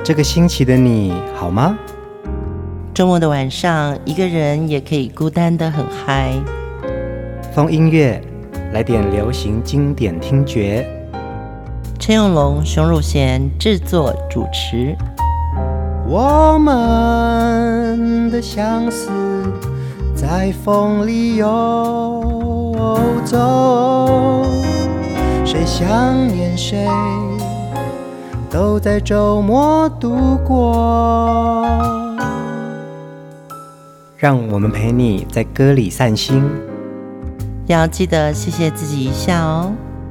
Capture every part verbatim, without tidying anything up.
這個星期的你好嗎？ 週末的晚上，一個人也可以孤單得很嗨。 瘋音樂，來點流行經典聽覺。 陳永龍、熊汝賢製作主持。 我們的相思在風裡游走，誰想念誰，都在週末度過。讓我們陪你在歌裡散心， 要記得謝謝自己一下哦。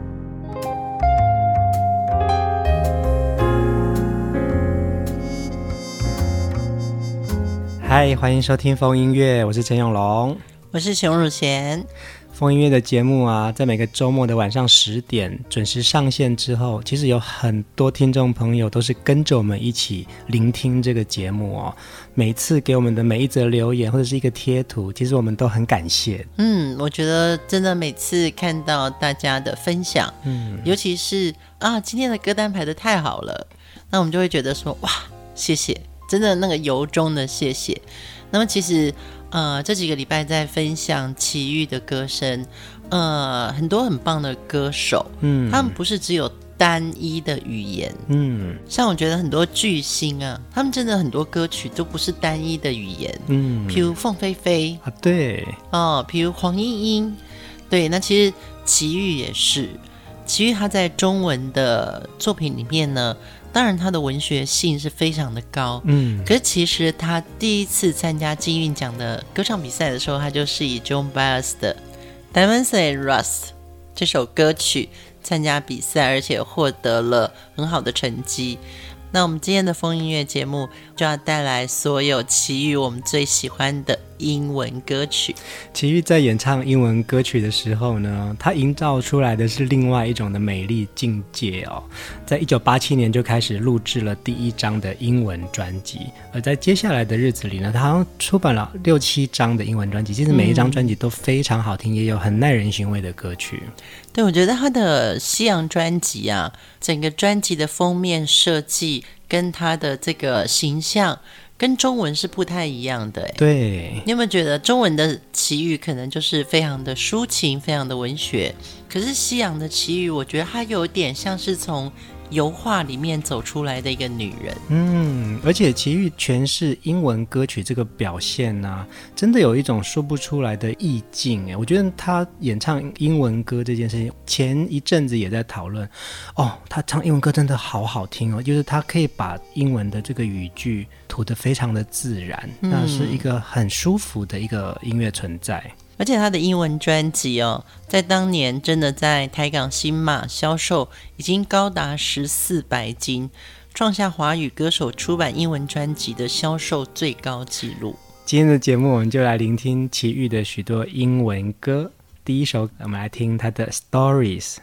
嗨，歡迎收聽瘋音樂，我是陳永龍， 我是熊汝賢。 瘋音樂的節目啊，在每個週末的晚上十點準時上線之後，其實有很多聽眾朋友都是跟着我們一起聆聽這個節目哦。每次給我們的每一則留言或者是一個貼圖，其實我們都很感謝。嗯， 我覺得真的每次看到大家的分享，嗯，尤其是啊，今天的歌單排得太好了，那我們就會覺得說，哇，謝謝，真的那個由衷的謝謝。那麼其實呃這幾個禮拜在分享齊豫的歌聲，呃很多很棒的歌手，嗯，他們不是只有單一的語言，嗯，像我覺得很多巨星啊，他們真的很多歌曲都不是單一的語言，嗯，譬如鳳飛飛啊，對， 哦，譬如黃鶯鶯，對，那其實齊豫也是，齊豫他在中文的作品裡面呢，當然他的文學性是非常的高，嗯，可是其實他第一次參加金韻獎的歌唱比賽的時候，他就是以 Joan Baez 的 Diamonds and Rust 這首歌曲參加比賽，而且獲得了很好的成績。那我們今天的瘋音樂節目就要帶來所有齊豫我們最喜歡的英文歌曲。 齊豫在演唱英文歌曲的時候呢，他營造出來的是另外一種的美麗境界哦。在一九八七年就開始錄製了第一張的英文專輯，而在接下來的日子裡呢，他好像出版了六七張的英文專輯，其實每一張專輯都非常好聽，嗯，也有很耐人尋味的歌曲。 對，我覺得他的西洋專輯啊，整個專輯的封面設計跟他的這個形象跟中文是不太一樣的。 對， 你有沒有覺得中文的齊豫可能就是非常的抒情，非常的文學，可是西洋的齊豫我覺得他有點像是從油畫裡面走出來的一個女人。嗯， 而且齊豫詮釋英文歌曲這個表現啊，真的有一種說不出來的意境。我覺得他演唱英文歌這件事情，前一陣子也在討論哦，他唱英文歌真的好好聽哦，就是他可以把英文的這個語句吐得非常的自然，嗯，那是一個很舒服的一個音樂存在。 而且他的英文專輯哦，在當年真的在台港新馬銷售已經高達十四白金，創下華語歌手出版英文專輯的銷售最高紀錄。 今天的節目我們就來聆聽齊豫的許多英文歌。第一首我們來聽他的 Stories。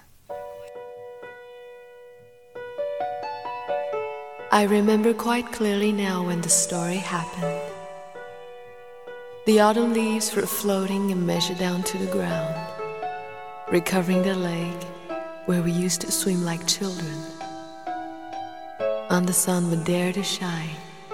I remember quite clearly now when the story happened.The autumn leaves were floating and measured down to the ground, recovering the lake where we used to swim like children. And the sun would dare to shine.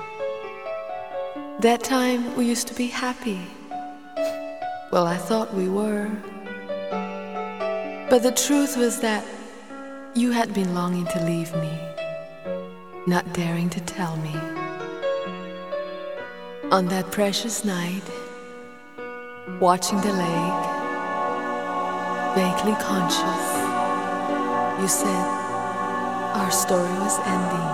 That time we used to be happy. Well, I thought we were. But the truth was that you had been longing to leave me, not daring to tell me.On that precious night, watching the lake, vaguely conscious, you said our story was ending.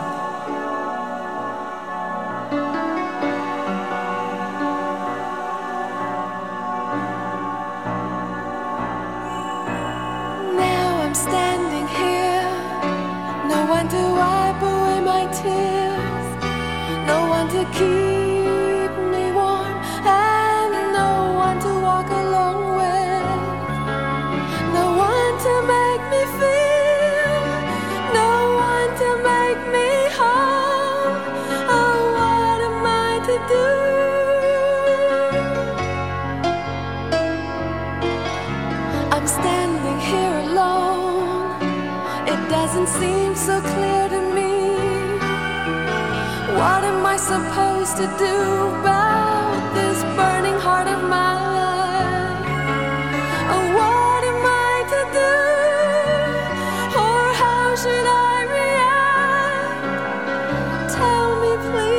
Now I'm standing here, no one to wipe away my tears, no one to keep.I'm standing here alone. It doesn't seem so clear to me What am I supposed to do about this burning heart of mine? Oh, what am I to do? Or how should I react? Tell me,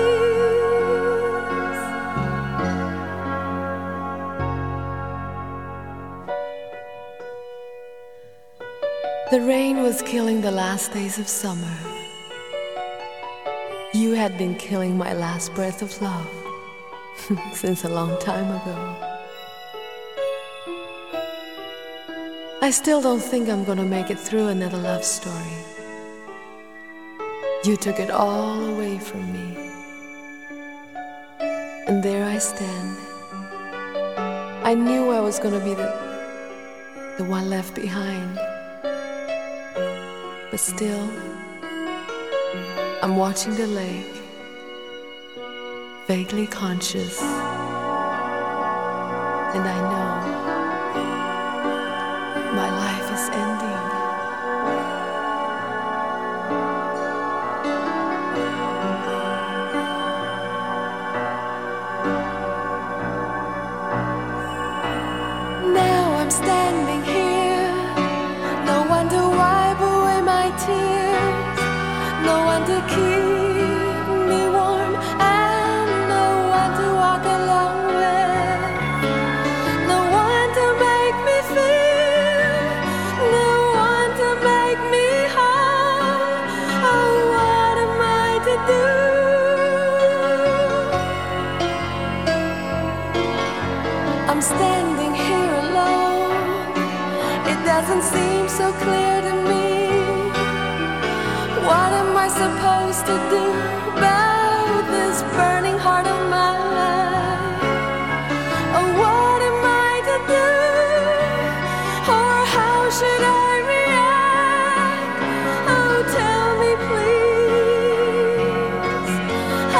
please. The rain was killing the last days of summer. You had been killing my last breath of love since a long time ago. I still don't think I'm gonna make it through another love story. You took it all away from me. And there I stand. I knew I was gonna be the, the one left behind. But still, I'm watching the lake, vaguely conscious, and I know my life is ending. Now I'm standing here, no one to wipe away my tears, no one to keep me warm, and no one to walk along with, no one to make me feel, no one to make me whole. Oh, what am I to do? I'm standing here alone. It doesn't seem so clear to me. What am I supposed to do about this burning heart of mine? Oh, what am I to do? Or how should I react? Oh, tell me, please. Ah,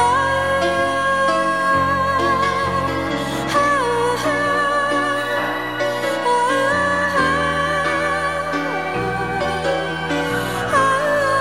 ah, ah, ah, ah.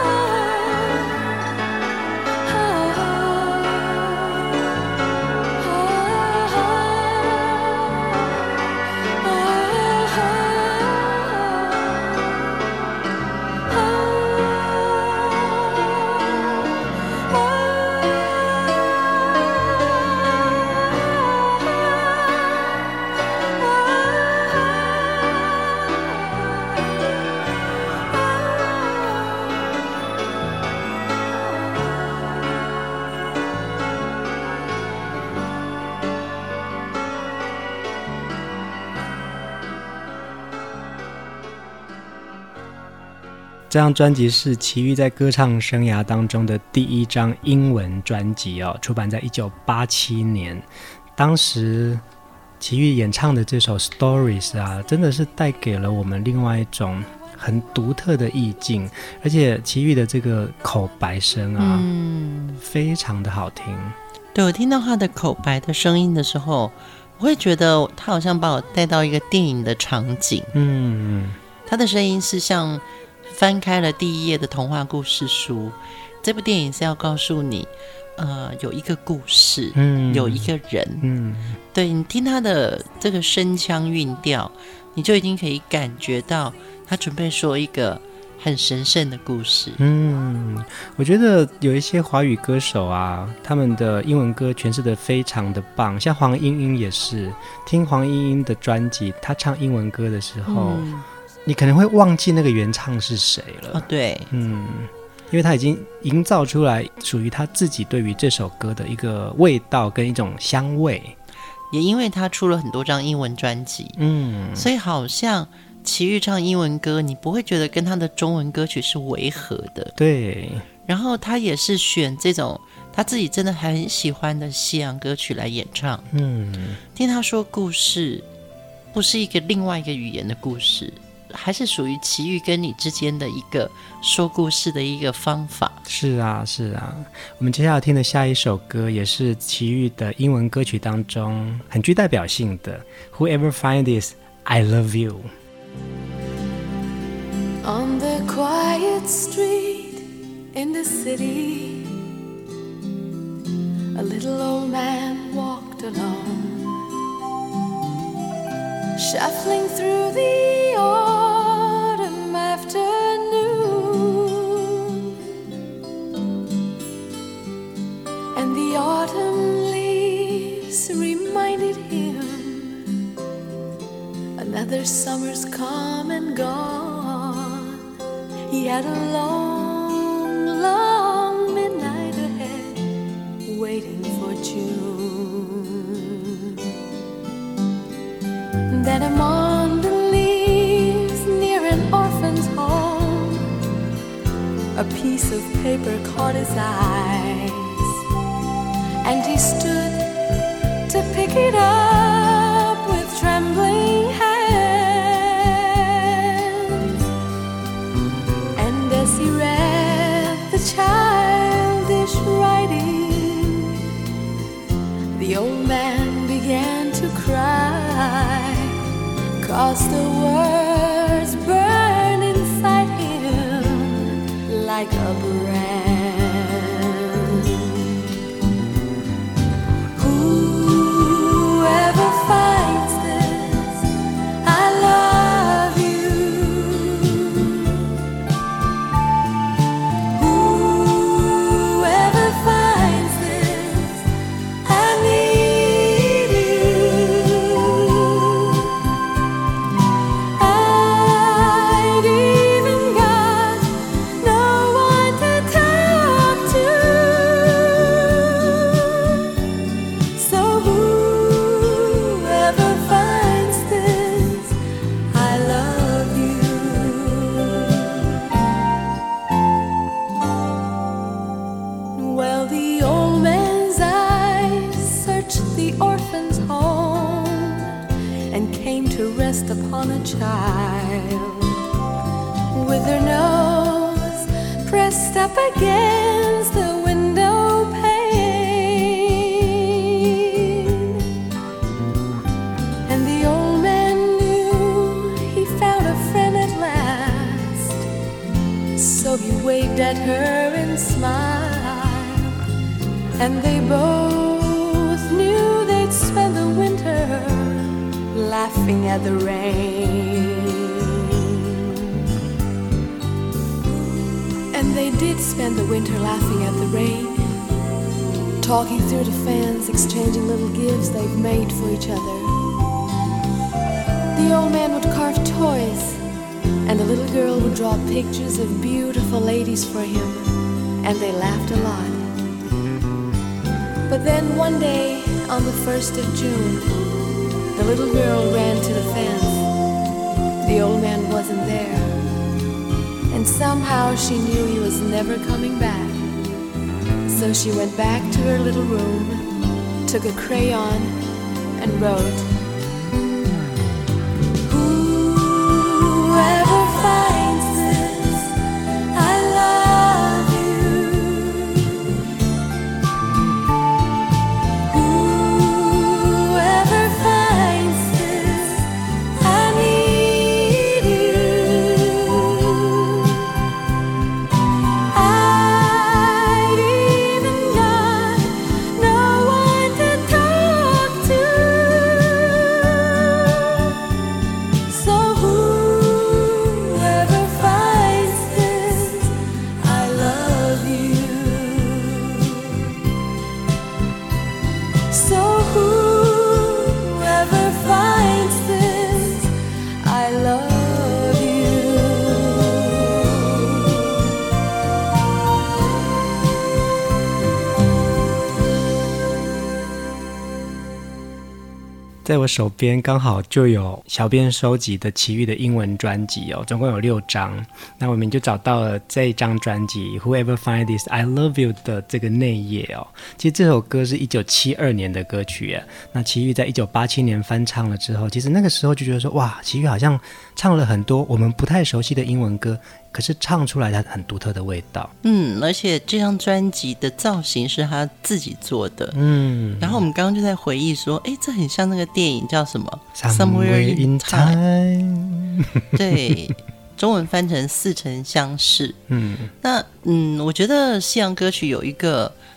這張專輯是齊豫在歌唱生涯當中的第一張英文專輯哦，出版在一九八七年。當時齊豫演唱的這首 Stories 啊，真的是帶給了我們另外一種很獨特的意境，而且齊豫的這個口白聲啊，嗯，非常的好聽。 對，我聽到他的口白的聲音的時候，我會覺得他好像把我帶到一個電影的場景。嗯，他的聲音是像翻開了第一頁的童話故事書，這部電影是要告訴你，呃，有一個故事，嗯，有一個人，嗯，對，你聽他的這個聲腔韻調，你就已經可以感覺到他準備說一個很神聖的故事。 嗯，我覺得有一些華語歌手啊，他們的英文歌詮釋得非常的棒，像黃鶯鶯也是，聽黃鶯鶯的專輯，他唱英文歌的時候，嗯，你可能會忘記那個原唱是誰了。 哦，對， 嗯，因為他已經營造出來屬於他自己對於這首歌的一個味道跟一種香味。 也因為他出了很多張英文專輯，嗯，所以好像齊豫唱英文歌，你不會覺得跟他的中文歌曲是違和的。 對， 然後他也是選這種他自己真的很喜歡的西洋歌曲來演唱。嗯，聽他說故事不是一個另外一個語言的故事，還是屬於齊豫跟你之間的一個說故事的一個方法。 是啊，是啊。我們接下來聽的下一首歌也是齊豫的英文歌曲當中很具代表性的 Whoever Finds This, I Love You。 On the quiet street in the city, a little old man walked alone, shuffling through the autumn afternoon, and the autumn leaves reminded him another summer's come and gone. He had a long, long midnight ahead, waiting for June. Then among the leaves near an orphan's home, a piece of paper caught his eyes, and he stood to pick it up with trembling hands. And as he read the childish writing, the old man began to cry, 'cause the words burn inside him like a brand. Whoever finds this, I love you. Whoever finds this, I need you. I'd even got no one to talk to. So whoever finds this, I love you. Well, the old man's eyes searched the orphan's home and came to rest upon a child with her nose pressed up against the window pane. And the old man knew he found a friend at last, so he waved at her and smiled, and they both knew they'd spend the winter laughing at the rain. And they did spend the winter laughing at the rain, talking through the fans, exchanging little gifts they've made for each other. The old man would carve toys, and the little girl would draw pictures of beautiful ladies for him, and they laughed a lot. But then one day, on the first of June, the little girl ran to the fence. The old man wasn't there, and somehow she knew he was never coming back. So she went back to her little room, took a crayon, and wrote, "Whoever finds this, I love you. Whoever finds this, I need you. I'd even got no one to talk to. So whoever finds this, I love you. So whoever finds this, I love you." 在我手邊剛好就有小編收集的奇遇的英文專輯哦，總共有六張。那我們就找到了這一張專輯 Whoever Finds This I Love You 的這個內頁哦。其實這首歌是一九七二年的歌曲耶。那奇遇在一九八七年翻唱了之後，其實那個時候就覺得說，哇，奇遇好像唱了很多我們不太熟悉的英文歌，可是唱出來它很獨特的味道。 嗯，而且這張專輯的造型是他自己做的。 嗯， 然後我們剛剛就在回憶說，哎，這很像那個電影叫什麼 Somewhere in Time。 對，中文翻成似曾相識。嗯，那嗯，我覺得西洋歌曲有一個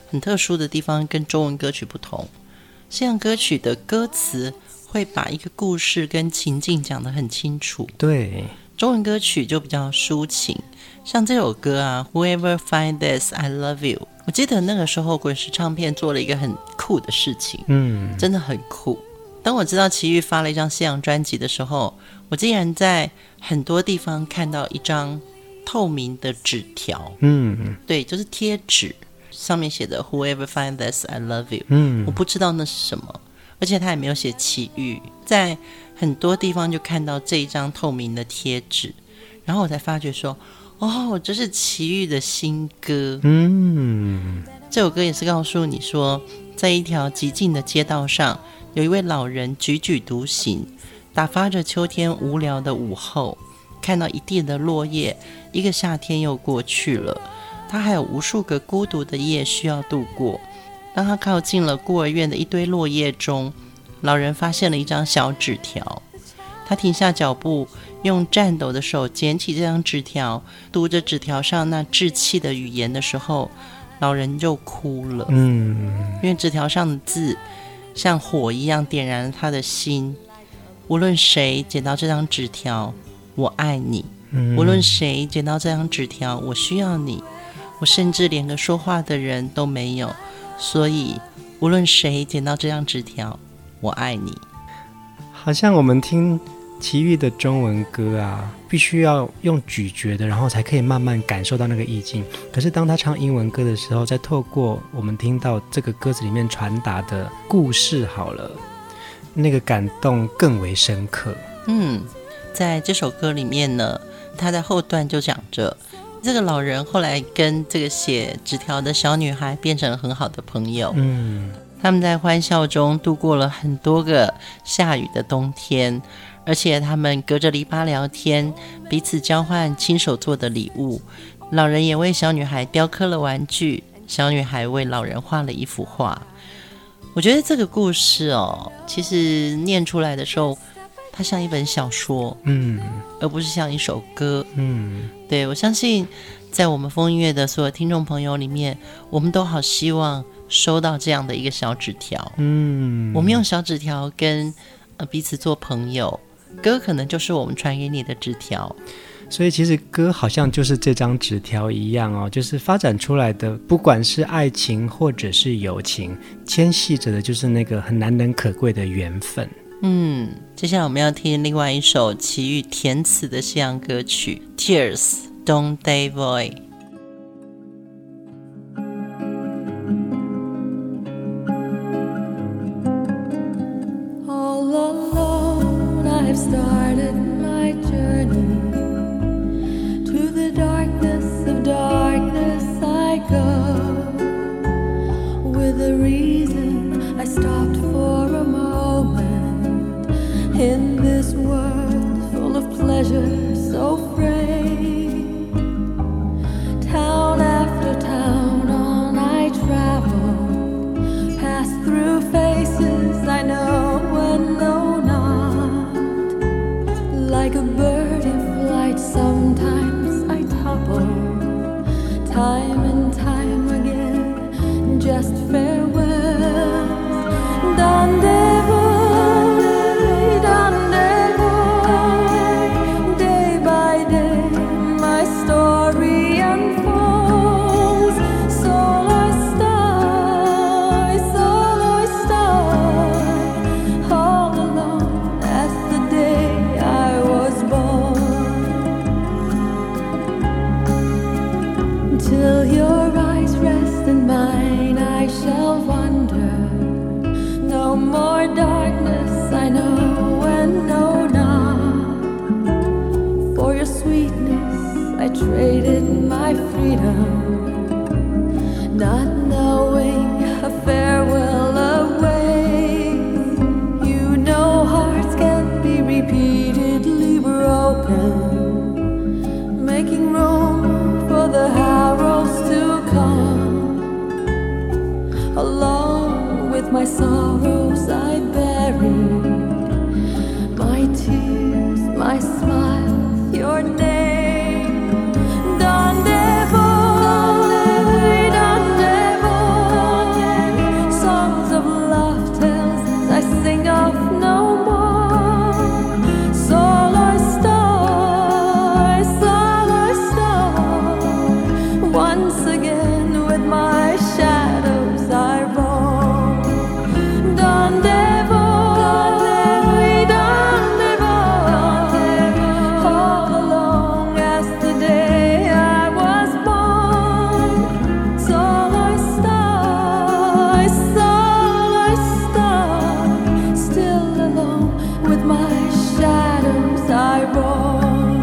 很特殊的地方跟中文歌曲不同，西洋歌曲的歌詞會把一個故事跟情境講得很清楚， 對， 中文歌曲就比較抒情。像這首歌啊 Whoever Find This I Love You， 我記得那個時候滾石唱片做了一個很酷的事情，嗯，真的很酷。當我知道齊豫發了一張西洋專輯的時候，我竟然在很多地方看到一張透明的紙條，嗯，對，就是貼紙，上面寫的 Whoever Find This I Love You， 嗯，我不知道那是什麼，而且他也沒有寫齊豫，在很多地方就看到這一張透明的貼紙，然後我才發覺說，哦，這是齊豫的新歌，嗯，這首歌也是告訴你說，在一條寂靜的街道上，有一位老人踽踽獨行，打發着秋天無聊的午後，看到一地的落葉，一個夏天又過去了，他還有無數個孤獨的夜需要度過。當他靠近了孤兒院的一堆落葉中，老人發現了一張小紙條，他停下腳步，用顫抖的手撿起這張紙條，讀着紙條上那稚氣的語言的時候，老人就哭了，嗯，因為紙條上的字像火一樣點燃了他的心。無論誰撿到這張紙條，我愛你，無論誰撿到這張紙條，我需要你，我甚至連個說話的人都沒有，所以無論誰撿到這張紙條，我愛你。 好像我們聽齊豫的中文歌啊，必須要用咀嚼的，然後才可以慢慢感受到那個意境。可是當他唱英文歌的時候，再透過我們聽到這個歌詞裡面傳達的故事好了，那個感動更為深刻。 嗯，在這首歌裡面呢，他在後段就講着，這個老人後來跟這個寫紙條的小女孩變成了很好的朋友。嗯，他們在歡笑中度過了很多個下雨的冬天，而且他們隔着籬笆聊天，彼此交換親手做的禮物。老人也為小女孩雕刻了玩具，小女孩為老人畫了一幅畫。我覺得這個故事哦，其實念出來的時候，它像一本小說，嗯，而不是像一首歌，嗯，對，我相信在我們瘋音樂的所有聽眾朋友裡面，我們都好希望收到這樣的一個小紙條，嗯，我們用小紙條跟呃彼此做朋友，歌可能就是我們傳給你的紙條。 所以其實歌好像就是這張紙條一樣哦，就是發展出來的，不管是愛情或者是友情，牽繫着的就是那個很難能可貴的緣分。 嗯，接下來我們要聽另外一首齊豫填詞的西洋歌曲 Tears Don Davoy。 All alone I have started my journey, to the darkness of darkness I go, with a reason I stopped for a moment, in this world full of pleasure so free. Town after town on I travel, pass through faces I know and know not. Like a bird in flight, sometimes I topple, time and time again, just farewell. Don Davoy, Don Davoy, day by day my story unfolds. Solo star, solo star, all alone as the day I was born. Till your eyes rest in mine, I shall wander. No more darkness I know and know not. For your sweetness I traded my freedom, not knowing a farewell awaits. You know hearts can't be repeatedly broken, making room for the arrows to come. Along with my sorrows I buried, my tears, my smile, your name. Don Davoy, Don Davoy, once again with my shadows I roam. Donde voy, donde voy, all along as the day I was born. So I start, so I start, still alone with my shadows I roam.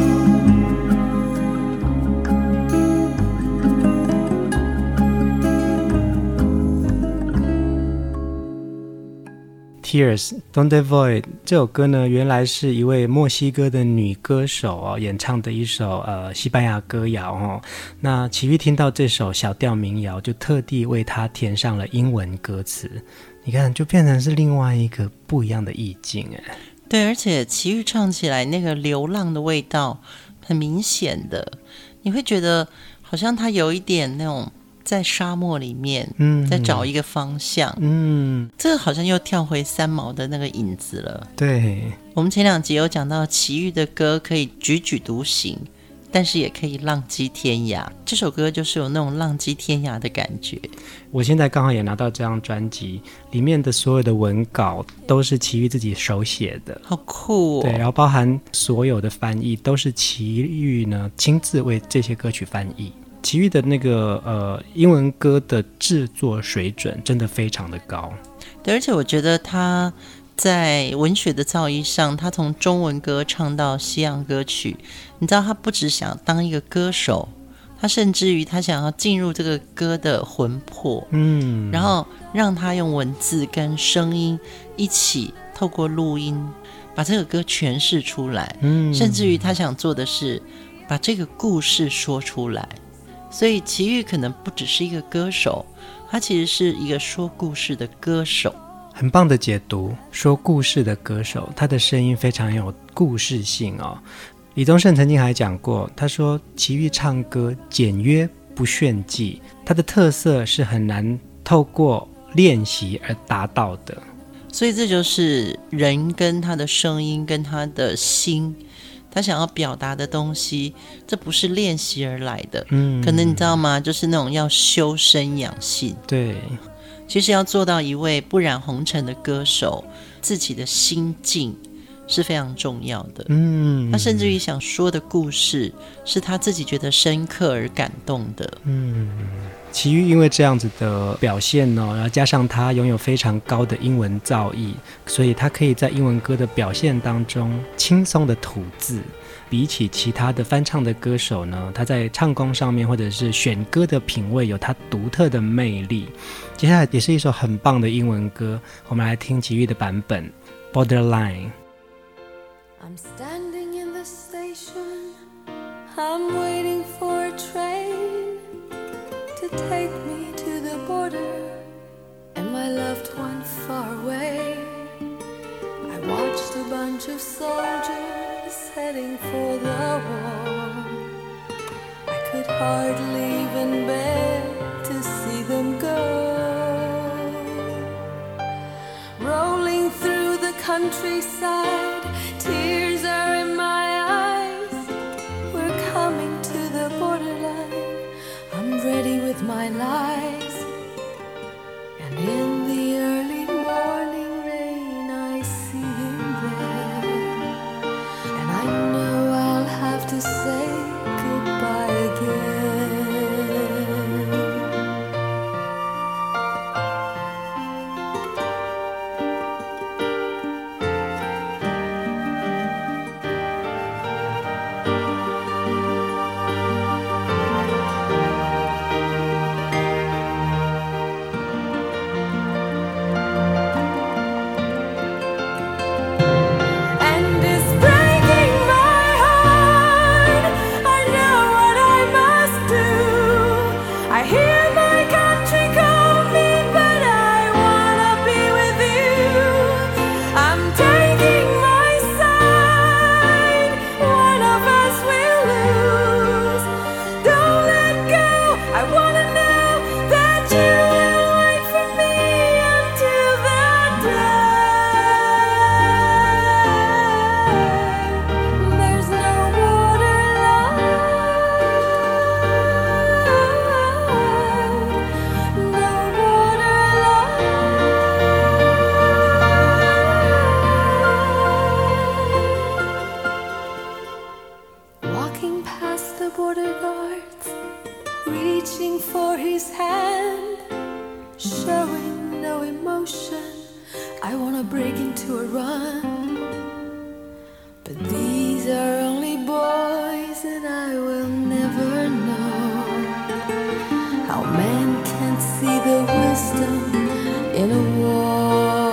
Tears Donde Voy 這首歌呢，原來是一位墨西哥的女歌手哦演唱的一首呃西班牙歌謠哦。那齊豫聽到這首小調民謠，就特地為她填上了英文歌詞。你看，就變成是另外一個不一樣的意境哎。 對，而且齊豫唱起來那個流浪的味道，很明顯的，你會覺得好像她有一點那種。在沙漠裡面，嗯，在找一個方向，嗯，這個好像又跳回三毛的那個影子了。 對， 我們前兩集有講到齊豫的歌可以踽踽獨行，但是也可以浪跡天涯。這首歌就是有那種浪跡天涯的感覺。 我現在剛好也拿到這張專輯，裡面的所有的文稿都是齊豫自己手寫的， 好酷哦。 對，然後包含所有的翻譯都是齊豫呢親自為這些歌曲翻譯。齊豫的那個呃英文歌的制作水準真的非常的高， 對，而且我覺得他在文學的造詣上，他從中文歌唱到西洋歌曲，你知道他不只想當一個歌手，他甚至於他想要進入這個歌的魂魄，嗯，然後讓他用文字跟聲音一起透過錄音把這個歌詮釋出來，嗯，甚至於他想做的是把這個故事說出來。所以齊豫可能不只是一個歌手，他其實是一個說故事的歌手。 很棒的解讀，說故事的歌手，他的聲音非常有故事性哦。李宗盛曾經還講過，他說齊豫唱歌簡約不炫技，他的特色是很難透過練習而達到的。 所以這就是人跟他的聲音跟他的心，他想要表達的東西，這不是練習而來的。嗯，可能你知道嗎？就是那種要修身養性。 對， 其實要做到一位不染紅塵的歌手，自己的心境是非常重要的。嗯，他甚至於想說的故事，是他自己覺得深刻而感動的。嗯。 齊豫因為這樣子的表現呢，然後加上他擁有非常高的英文造詣，所以他可以在英文歌的表現當中輕鬆的吐字。比起其他的翻唱的歌手呢，他在唱功上面或者是選歌的品味有他獨特的魅力。接下來也是一首很棒的英文歌，我們來聽齊豫的版本 Borderline。 I'm standing in the station, I'm waiting for a train to take me to the border and my loved one far away. I watched a bunch of soldiers heading for the war. I could hardly even bear to see them go. Rolling through the countryside, tears are in my eyes. We're coming to the borderline, I'm ready with my lies. And in the early morning rain I see him there, and I know I'll have to say goodbye again. reaching for his hand, showing no emotion. I wanna break into a run, but these are only boys, and I will never know how men can't see the wisdom in a war.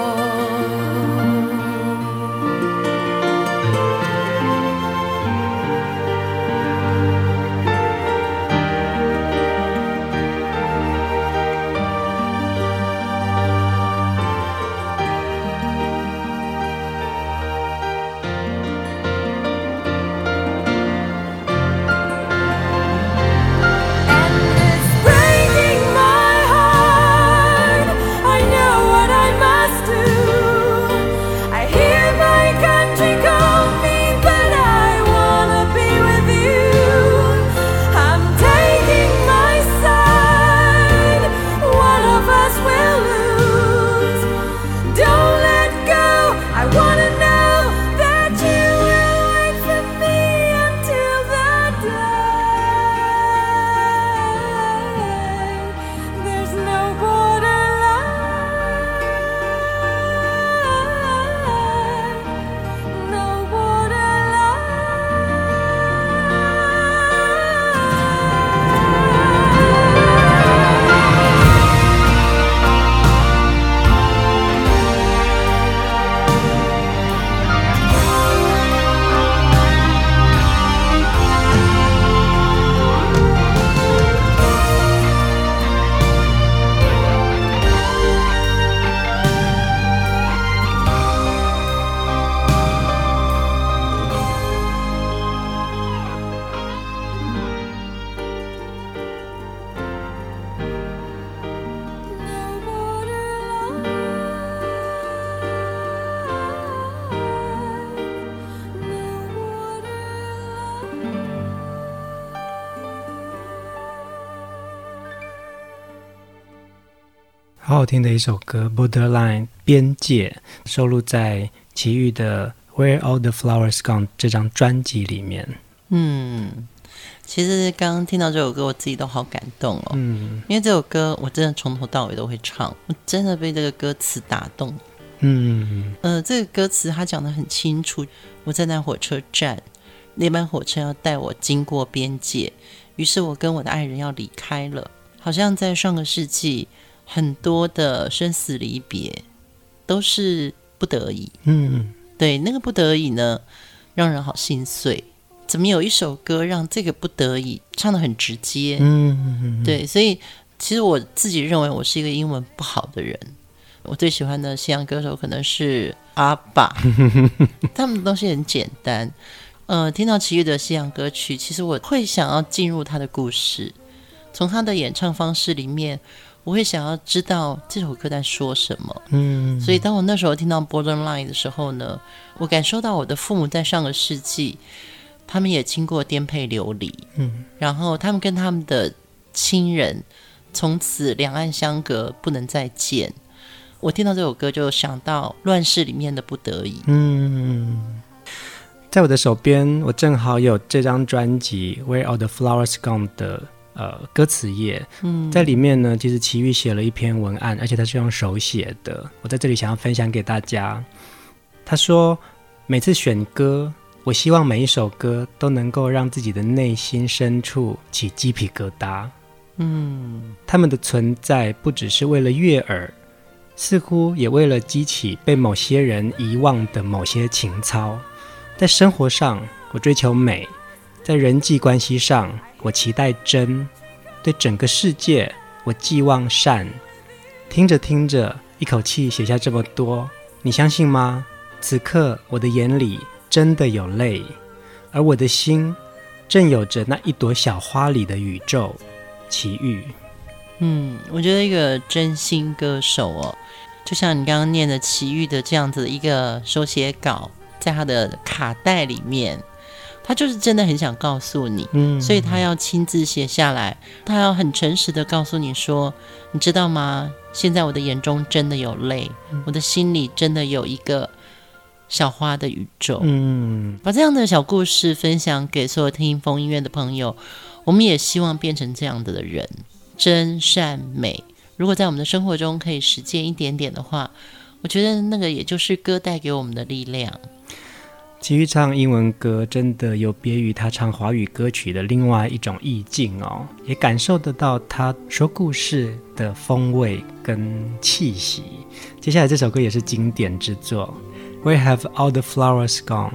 好好听的一首歌 Borderline 邊界，收錄在齊豫的 Where All the Flowers Gone 這張專輯裡面。 嗯，其實剛剛聽到這首歌我自己都好感動哦。嗯，因為這首歌我真的從頭到尾都會唱，我真的被這個歌詞打動。嗯呃，這個歌詞他講得很清楚，我在那火車站，那班火車要帶我經過邊界，於是我跟我的愛人要離開了，好像在上個世紀很多的生死離別都是不得已。嗯，對，那個不得已呢，讓人好心碎。怎麼有一首歌讓這個不得已唱得很直接？嗯，對，所以其實我自己認為我是一個英文不好的人。我最喜歡的西洋歌手可能是阿爸，他們的東西很簡單。呃，聽到齊豫的西洋歌曲，其實我會想要進入他的故事，從他的演唱方式裡面，我會想要知道這首歌在說什麼。嗯，所以當我那時候聽到 Borderline 的時候呢，我感受到我的父母在上個世紀，他們也經過顛沛流離。嗯，然後他們跟他們的親人從此兩岸相隔，不能再見。我聽到這首歌就想到亂世裡面的不得已。嗯， 在我的手邊，我正好有這張專輯 Where All the Flowers Gone 的呃歌詞頁。嗯，在裡面呢，其實齊豫寫了一篇文案，而且他是用手寫的。我在這裡想要分享給大家。他說，每次選歌，我希望每一首歌都能夠讓自己的內心深處起雞皮疙瘩。嗯，他們的存在不只是為了悅耳，似乎也為了激起被某些人遺忘的某些情操。在生活上，我追求美；在人際關係上，我期待真；對整個世界，我寄望善。聽着聽着，一口氣寫下這麼多，你相信嗎？此刻，我的眼裡真的有淚，而我的心正有着那一朵小花裡的宇宙。齊豫。 嗯，我覺得一個真心歌手哦，就像你剛剛念的齊豫的這樣子的一個手寫稿，在他的卡帶裡面，他就是真的很想告訴你，嗯，所以他要親自寫下來，他要很誠實的告訴你說，你知道嗎？現在我的眼中真的有淚，嗯，我的心裡真的有一個小花的宇宙。嗯，把這樣的小故事分享給所有聽風音樂的朋友，我們也希望變成這樣的人。 真善美。如果在我們的生活中可以實踐一點點的話，我覺得那個也就是歌帶給我們的力量。 其餘唱英文歌真的有別於他唱華語歌曲的另外一種意境哦，也感受得到他說故事的風味跟氣息。接下來這首歌也是經典之作， Where have all the flowers gone？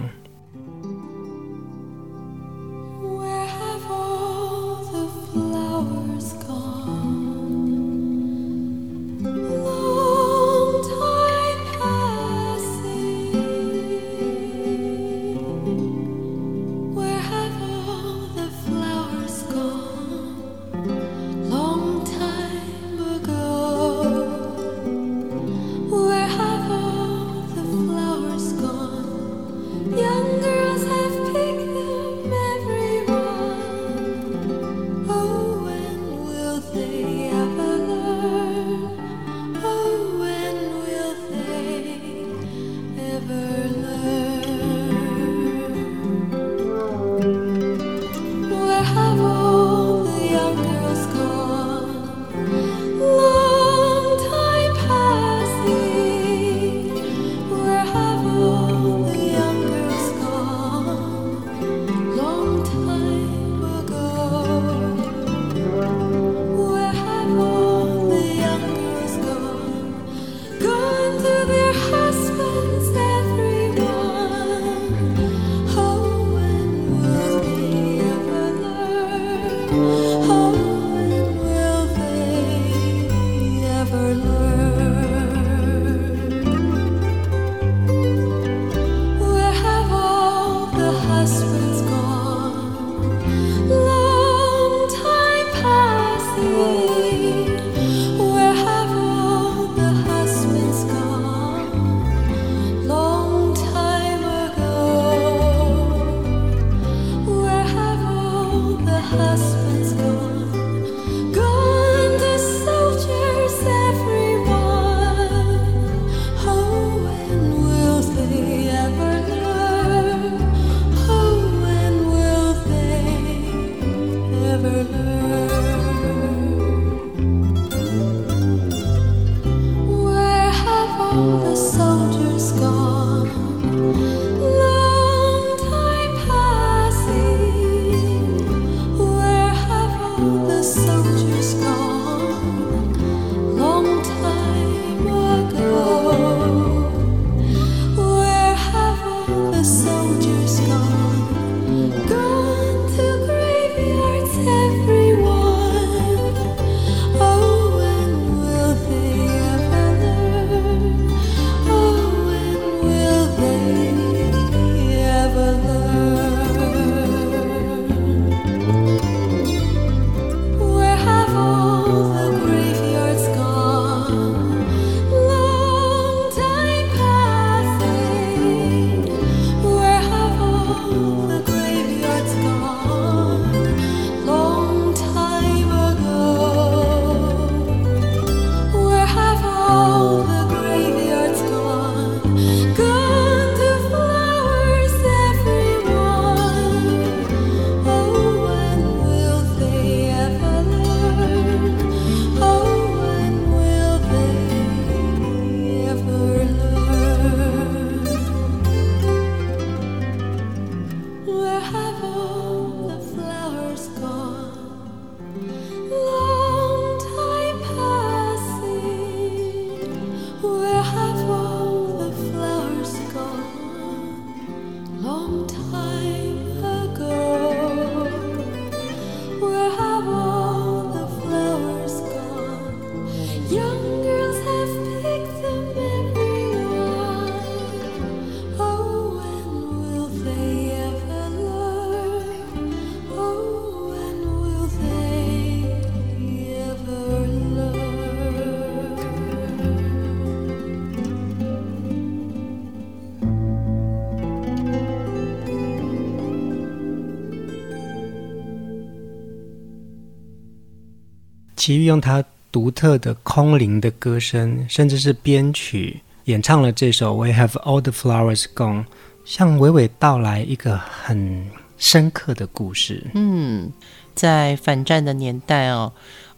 齐豫用他獨特的空靈的歌聲，甚至是編曲演唱了這首 Where Have All the Flowers Gone， 向娓娓道來一個很深刻的故事。 嗯，在反戰的年代哦，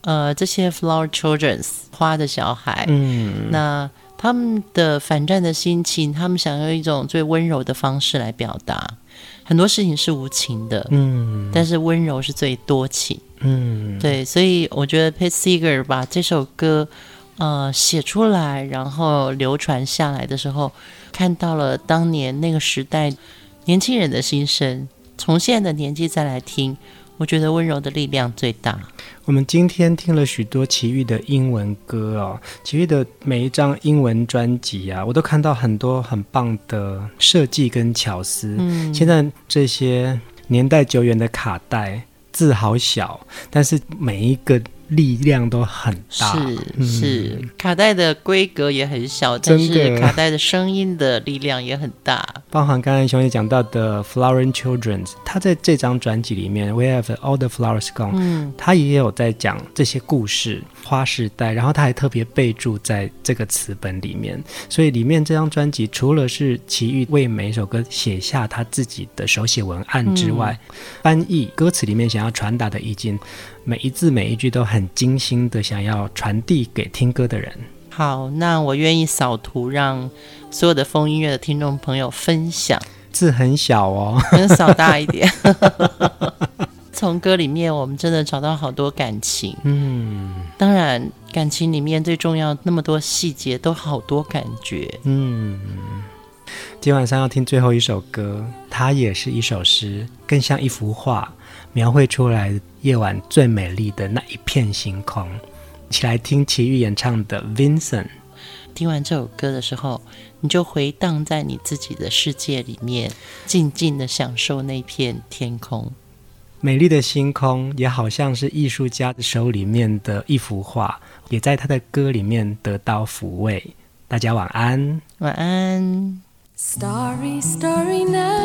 呃這些 flower children 花的小孩， 嗯， 那他們的反戰的心情，他們想要一種最溫柔的方式來表達。很多事情是無情的，嗯，但是溫柔是最多情，嗯，對，所以我覺得 Pete Seeger 把這首歌呃寫出來，然後流傳下來的時候，看到了當年那個時代年輕人的心聲，從現在的年紀再來聽，我覺得溫柔的力量最大。 我們今天聽了許多齊豫的英文歌哦，齊豫的每一張英文專輯啊，我都看到很多很棒的設計跟巧思。嗯，現在這些年代久遠的卡帶，字好小，但是每一個力量都很大， 是、嗯、是，卡帶的規格也很小，但是卡帶的聲音的力量也很大。 包含剛才熊姐講到的 Flower Children， 他在這張專輯裡面 We Have All the Flowers Gone，嗯，他也有在講這些故事，花時代，然後他還特別備註在這個詞本裡面，所以裡面這張專輯除了是齊豫為每一首歌寫下他自己的手寫文案之外，嗯、翻譯歌詞裡面想要傳達的意境，每一字每一句都很精心的想要傳遞給聽歌的人。 好，那我願意掃圖，讓所有的瘋音樂的聽眾朋友分享。 字很小哦， 掃大一點。從歌裡面我們真的找到好多感情，嗯，當然感情裡面最重要那麼多細節都好多感覺，嗯。 今晚上要聽最後一首歌，它也是一首詩，更像一幅畫，描繪出來夜晚最美麗的那一片星空。一起來聽齊豫演唱的 Vincent。 聽完這首歌的時候，你就回盪在你自己的世界裡面，靜靜的享受那片天空。 美麗的星空也好像是藝術家的手裡面的一幅畫，也在他的歌裡面得到撫慰。大家晚安。 晚安。 Starry, starry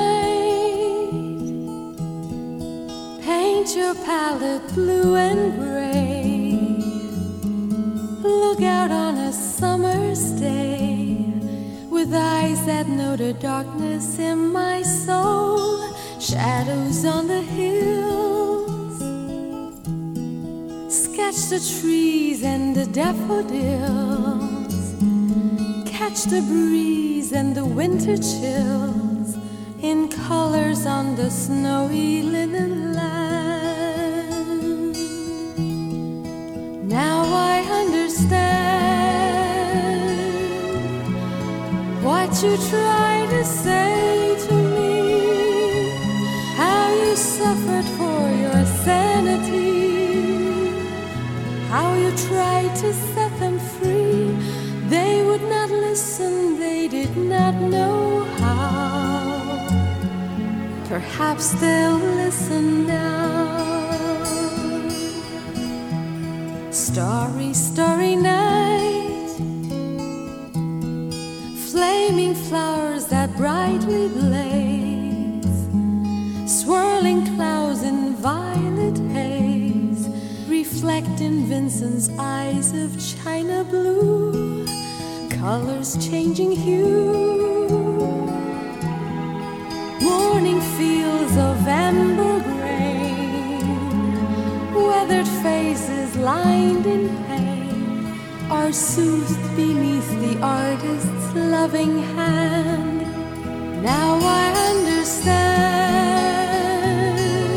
night, paint your palette blue and gray, look out on a summer's day, with eyes that know the darkness in my soul, shadows on the hills, sketch the trees and the daffodils, catch the breeze and the winter chills in colors on the snowy linen land. Now I understand what you try to say to me, how you suffered for your sanity, how you tried to set them free. They would not listen, they did not know how. Perhaps they'll listen now. Starry, starry night, flaming flowers that brightly blaze, swirling clouds in violet haze, reflect in Vincent's eyes of china blue, colors changing hue, morning fields of amber grain, weathered faces lined in pain are soothed beneath the artist's loving hand. Now I understand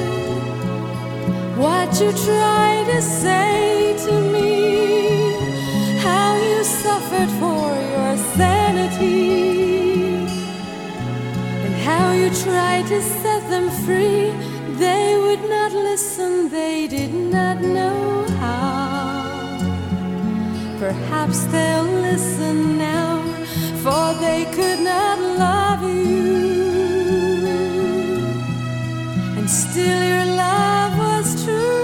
what you try to say to me, how you suffered for your sanity, and how you tried to set them free. They would not listen, they did not know how. Perhaps they'll listen now, for they could not love you, and still your love was true.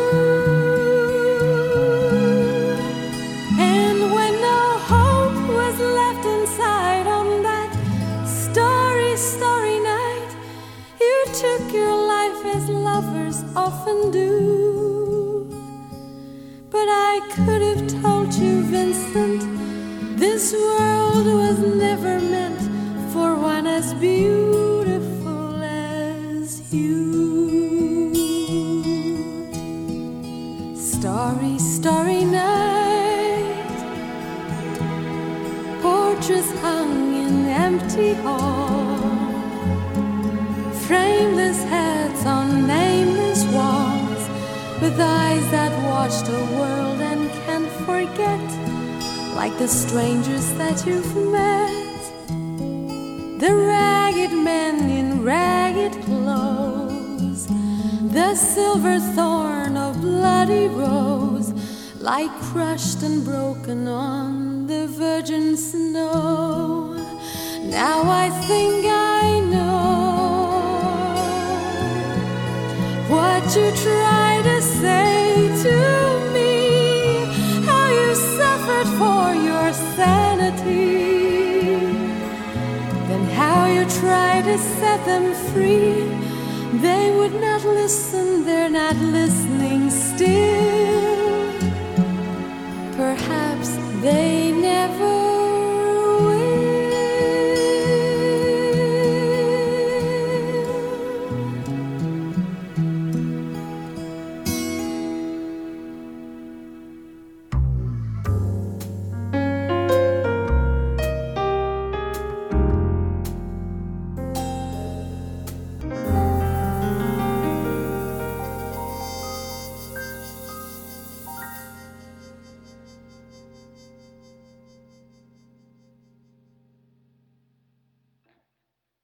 Took your life as lovers often do, but I could have told you, Vincent, this world was never meant for one as beautiful as you. Starry, starry portraits hung in empty halls, frameless heads on nameless walls, with eyes that watch the world and can't forget, like the strangers that you've met. The ragged men in ragged clothes, the silver thorn of bloody rose, lie crushed and broken on the virgin snow. Now I think I know what you try to say to me, how you suffered for your sanity, then how you try to set them free. They would not listen, they're not listening still. Perhaps they never